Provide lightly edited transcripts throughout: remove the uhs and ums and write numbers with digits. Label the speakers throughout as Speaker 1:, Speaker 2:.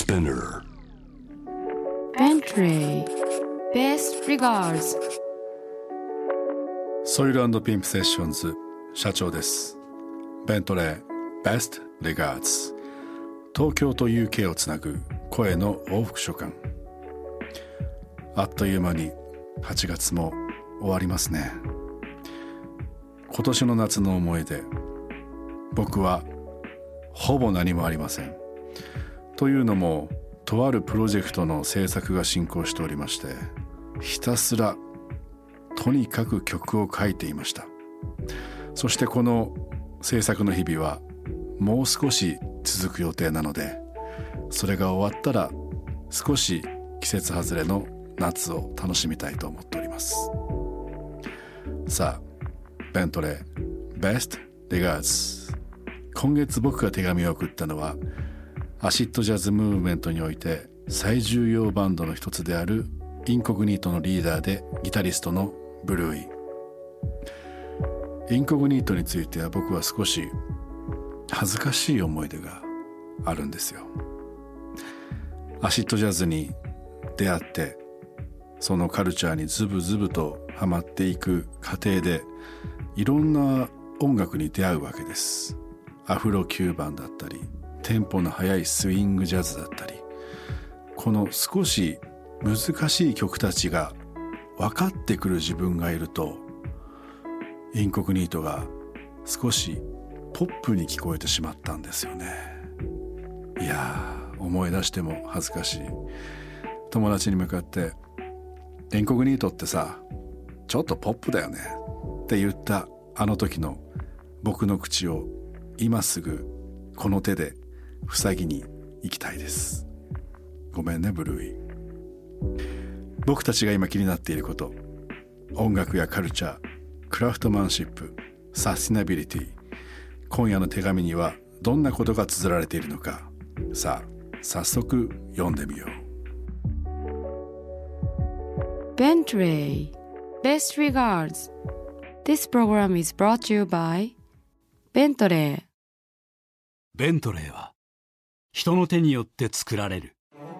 Speaker 1: Spinner
Speaker 2: Bentley Best Regards
Speaker 3: ソイル&ピンプセッションズ社長です。ベントレー Best Regards 東京と UK をつなぐ声の往復書簡。あっという間に8月も終わりますね。今年の夏の思い出、僕はほぼ何もありません。というのもとあるプロジェクトの制作が進行しておりまして、ひたすらとにかく曲を書いていました。そしてこの制作の日々はもう少し続く予定なので、それが終わったら少し季節外れの夏を楽しみたいと思っております。さあ、ベントレー Best Regards。 今月僕が手紙を送ったのはアシッドジャズムーブメントにおいて最重要バンドの一つであるインコグニートのリーダーでギタリストのブルーイ。インコグニートについては僕は少し恥ずかしい思い出があるんですよ。アシッドジャズに出会ってそのカルチャーにズブズブとハマっていく過程でいろんな音楽に出会うわけです。アフロキューバンだったりテンポの速いスイングジャズだったり、この少し難しい曲たちが分かってくる自分がいると、インコグニートが少しポップに聞こえてしまったんですよね。いやー、思い出しても恥ずかしい。友達に向かってインコグニートってさ、ちょっとポップだよねって言ったあの時の僕の口を今すぐこの手で塞ぎに行きたいです。ごめんねブルーイ。僕たちが今気になっていること、音楽やカルチャー、クラフトマンシップ、サスティナビリティ、今夜の手紙にはどんなことが綴られているのか、さあ早速読んでみよう。
Speaker 2: Bentley Best Regards. This program is brought to you by Bentley。
Speaker 4: ベントレーは人の手によって作られる。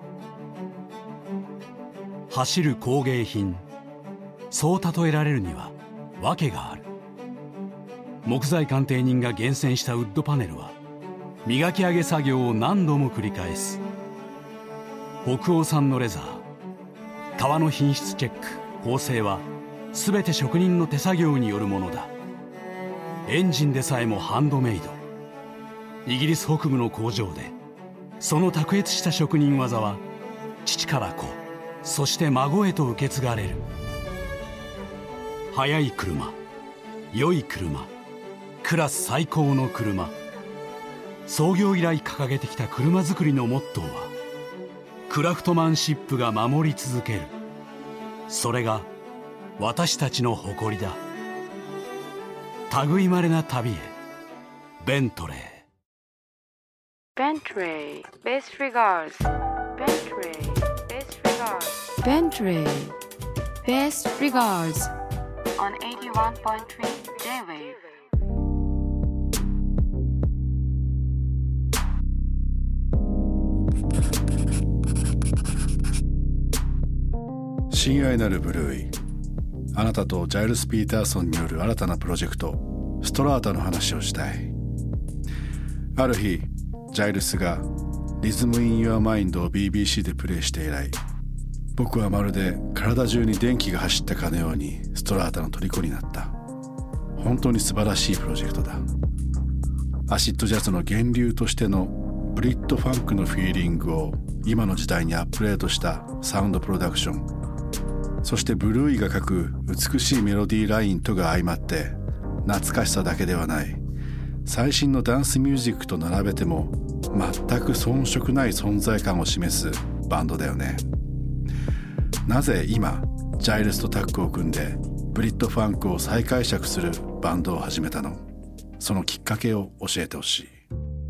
Speaker 4: 走る工芸品、そう例えられるには訳がある。木材鑑定人が厳選したウッドパネルは磨き上げ作業を何度も繰り返す。北欧産のレザー、革の品質チェック、縫製は全て職人の手作業によるものだ。エンジンでさえもハンドメイド。イギリス北部の工場でその卓越した職人技は父から子、そして孫へと受け継がれる。速い車、良い車、クラス最高の車。創業以来掲げてきた車作りのモットーはクラフトマンシップが守り続ける。それが私たちの誇りだ。類まれな旅へ、ベントレー。
Speaker 2: Bentley Best Regards. Bentley Best Regards. Bentley Best Regards on 81.3 J-Wave。
Speaker 3: 親愛なるブルーイ、あなたとジャイルス・ピーターソンによる新たなプロジェクトストラータの話をしたい。ある日ジャイルスがリズム・イン・ユア・マインドを BBC でプレイして以来、僕はまるで体中に電気が走ったかのようにストラータの虜になった。本当に素晴らしいプロジェクトだ。アシッドジャズの源流としてのブリッドファンクのフィーリングを今の時代にアップデートしたサウンドプロダクション、そしてブルーイが書く美しいメロディーラインとが相まって懐かしさだけではない、最新のダンスミュージックと並べても全く遜色ない存在感を示すバンドだよね。なぜ今ジャイルスとタッグを組んでブリッドファンクを再解釈するバンドを始めたの？そのきっかけを教えてほしい。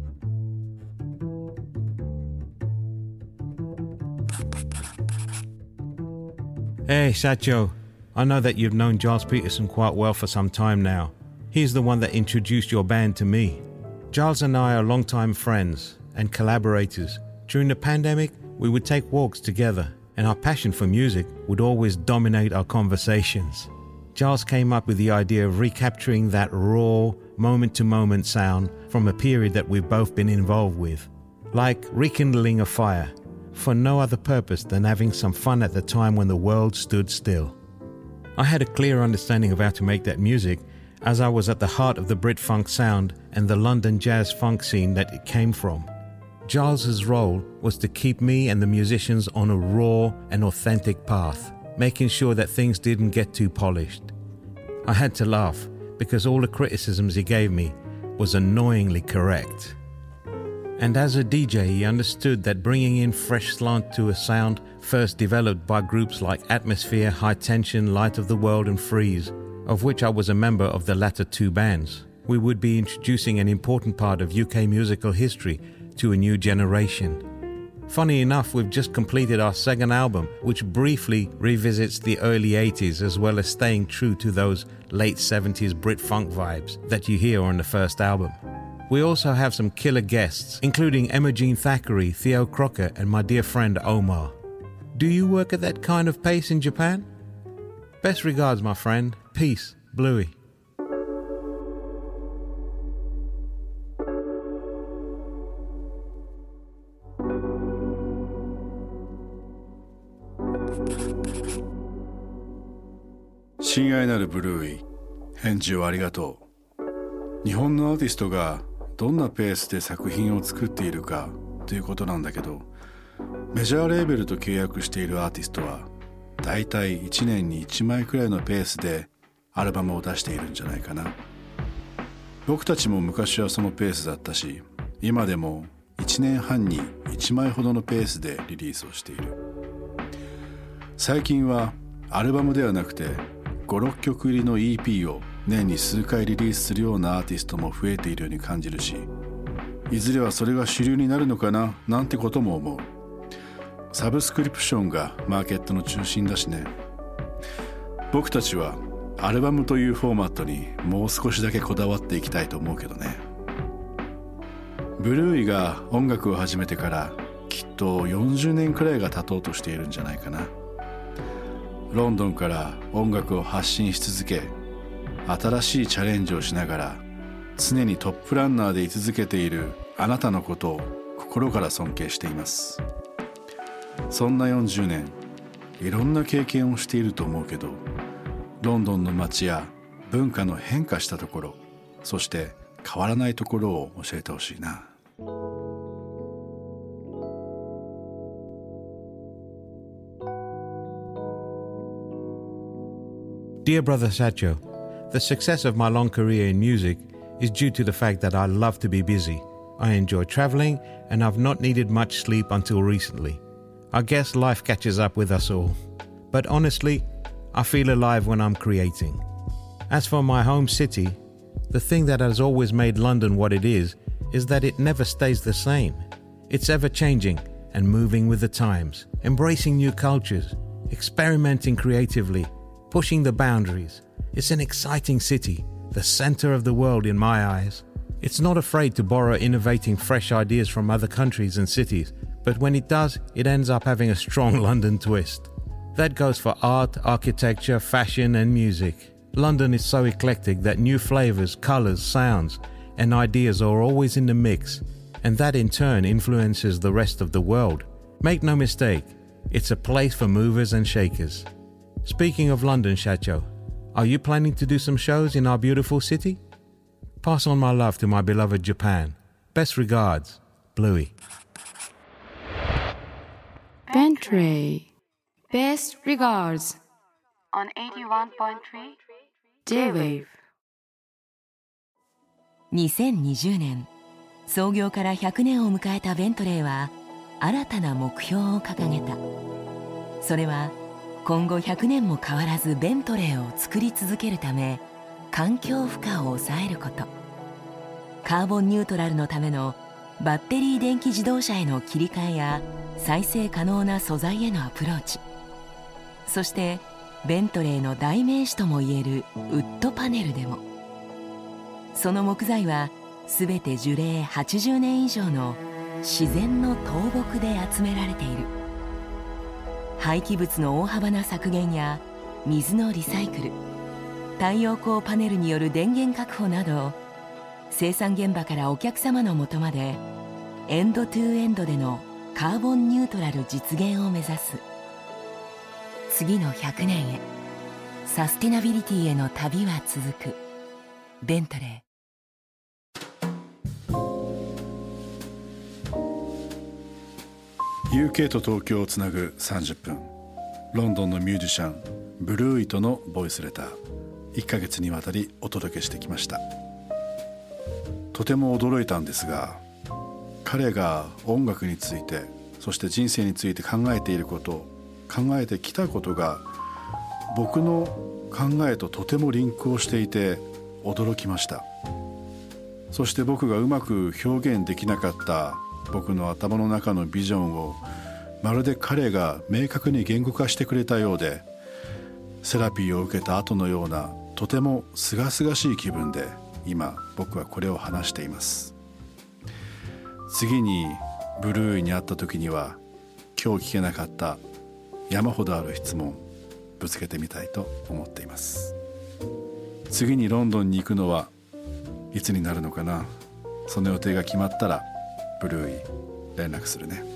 Speaker 5: Hey, Satcho. I know that you've known Giles Peterson quite well for some time now. He's the one that introduced your band to me. Giles and I are longtime friends and collaborators, During the pandemic, we would take walks together, and our passion for music would always dominate our conversations. Giles came up with the idea of recapturing that raw, moment-to-moment sound from a period that we've both been involved with, like rekindling a fire, for no other purpose than having some fun at the time when the world stood still. I had a clear understanding of how to make that music, as I was at the heart of the Brit funk sound and the London jazz funk scene that it came from. Giles's role was to keep me and the musicians on a raw and authentic path, making sure that things didn't get too polished. I had to laugh because all the criticisms he gave me was annoyingly correct. And as a DJ, he understood that bringing in fresh slant to a sound first developed by groups like Atmosphere, High Tension, Light of the World and Freeze, of which I was a member of the latter two bands, we would be introducing an important part of UK musical history to a new generation. Funny enough, we've just completed our second album, which briefly revisits the early 80s as well as staying true to those late 70s Brit funk vibes that you hear on the first album. We also have some killer guests, including Emma Jean Thackeray, Theo Crocker, and my dear friend Omar. Do you work at that kind of pace in Japan? Best regards, my friend. Peace, Bluey.
Speaker 3: 親愛なるブルーイ、返事をありがとう。日本のアーティストがどんなペースで作品を作っているかということなんだけど、メジャーレーベルと契約しているアーティストはだいたい1年に1枚くらいのペースでアルバムを出しているんじゃないかな。僕たちも昔はそのペースだったし、今でも1年半に1枚ほどのペースでリリースをしている。最近はアルバムではなくて5、6曲入りの EP を年に数回リリースするようなアーティストも増えているように感じるし、いずれはそれが主流になるのかななんてことも思う。サブスクリプションがマーケットの中心だしね。僕たちはアルバムというフォーマットにもう少しだけこだわっていきたいと思うけどね。ブルーイが音楽を始めてからきっと40年くらいが経とうとしているんじゃないかな。ロンドンから音楽を発信し続け、新しいチャレンジをしながら常にトップランナーで居続けているあなたのことを心から尊敬しています。そんな40年、いろんな経験をしていると思うけど、ロンドンの街や文化の変化したところ、そして変わらないところを教えてほしいな。
Speaker 5: Dear Brother Satcho, the success of my long career in music is due to the fact that I love to be busy. I enjoy traveling and I've not needed much sleep until recently. I guess life catches up with us all. But honestly, I feel alive when I'm creating. As for my home city, the thing that has always made London what it is that it never stays the same. It's ever changing and moving with the times, embracing new cultures, experimenting creatively, pushing the boundaries. It's an exciting city, the center of the world in my eyes. It's not afraid to borrow innovating fresh ideas from other countries and cities, but when it does, it ends up having a strong London twist. That goes for art, architecture, fashion and music. London is so eclectic that new flavors, colors, sounds and ideas are always in the mix, and that in turn influences the rest of the world. Make no mistake, it's a place for movers and shakers. Speaking of London, Satcho, are you planning to do some shows in our beautiful city? Pass on my love to my beloved Japan. Best regards, Bluey.
Speaker 2: Bentray. Best regards. On 81.3 J-Wave.
Speaker 1: 2020年、創業から100年を迎えたベントレーは新たな目標を掲げた。それは今後100年も変わらずベントレーを作り続けるため、環境負荷を抑えること、カーボンニュートラルのためのバッテリー電気自動車への切り替えや再生可能な素材へのアプローチ、そしてベントレーの代名詞ともいえるウッドパネルでも、その木材はすべて樹齢80年以上の自然の倒木で集められている。廃棄物の大幅な削減や水のリサイクル、太陽光パネルによる電源確保など、生産現場からお客様のもとまでエンドトゥエンドでのカーボンニュートラル実現を目指す。次の100年へ、サスティナビリティへの旅は続く。ベントレー。
Speaker 3: UK と東京をつなぐ30分、ロンドンのミュージシャンブルーイとのボイスレター、1ヶ月にわたりお届けしてきました。とても驚いたんですが、彼が音楽について、そして人生について考えていること、考えてきたことが僕の考えととてもリンクをしていて驚きました。そして僕がうまく表現できなかった僕の頭の中のビジョンをまるで彼が明確に言語化してくれたようで、セラピーを受けた後のようなとても清々しい気分で今僕はこれを話しています。次にブルーイに会った時には、今日聞けなかった山ほどある質問ぶつけてみたいと思っています。次にロンドンに行くのはいつになるのかな。その予定が決まったらブルーイ連絡するね。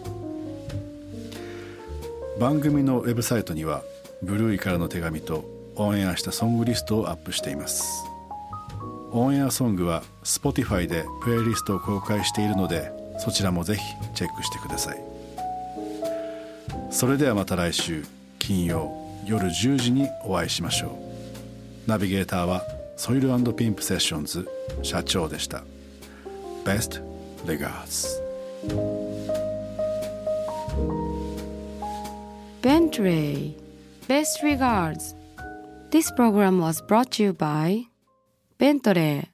Speaker 3: 番組のウェブサイトにはブルーイからの手紙とオンエアしたソングリストをアップしています。オンエアソングは Spotify でプレイリストを公開しているので、そちらもぜひチェックしてください。それではまた来週金曜夜10時にお会いしましょう。ナビゲーターはソイル&ピンプセッションズ社長でした。 Best regards.
Speaker 2: Bentley. Best regards. This program was brought to you by Bentley.